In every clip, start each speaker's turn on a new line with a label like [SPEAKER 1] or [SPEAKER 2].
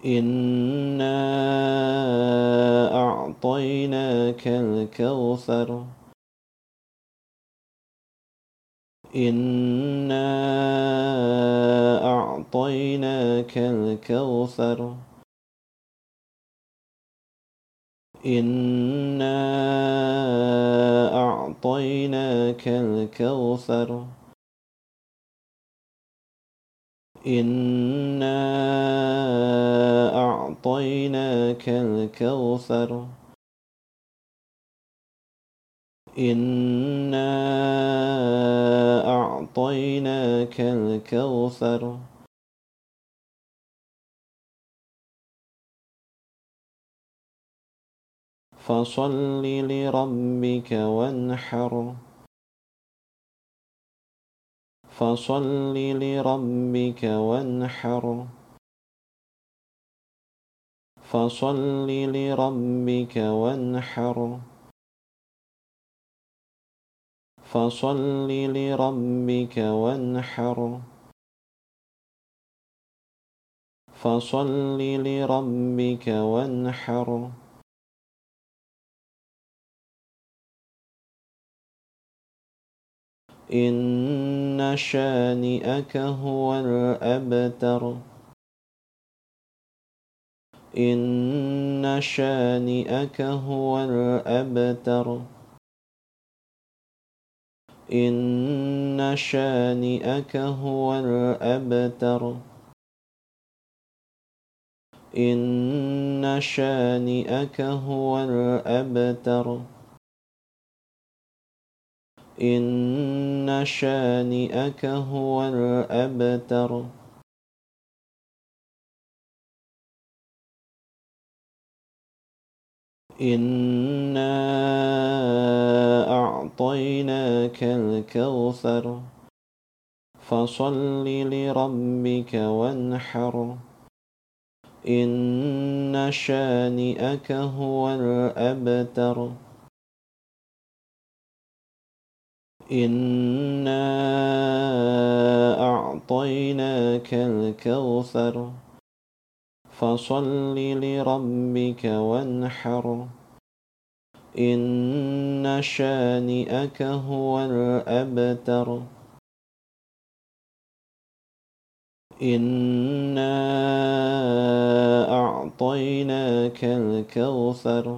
[SPEAKER 1] إنا أعطيناك الكوثر إنا أعطيناك الكوثر إنا أعطيناك الكوثر إنا أعطيناك الكوثر إنا أعطيناك الكوثر فصل لربك وانحر فصل لربك وانحر فصل لربك وانحر فصل لربك وانحر فصل لربك وانحر إن شانئك هو الأبتر إن شانئك هو الأبتر إن شانئك هو الأبتر إن شانئك هو الأبتر إن شانئك هو الأبتر إنا أعطيناك الكوثر فصل لربك وانحر إن شانئك هو الأبتر إنا أعطيناك الكوثر فصل لربك وانحر إن شانئك هو الأبتر إنا أعطيناك الكوثر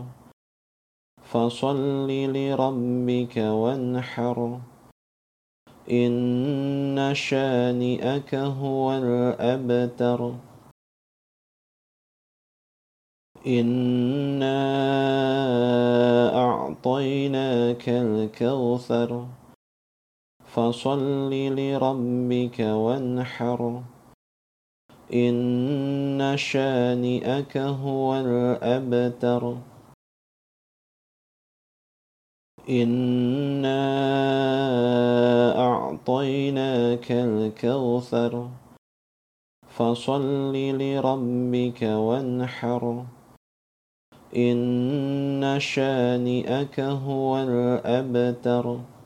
[SPEAKER 1] فصل لربك وانحر إن شانئك هو الأبتر إنا أعطيناك الكوثر فصل لربك وانحر إن شانئك هو الأبتر إنا أعطيناك الكوثر فصل لربك وانحر إن شانئك هو الأبتر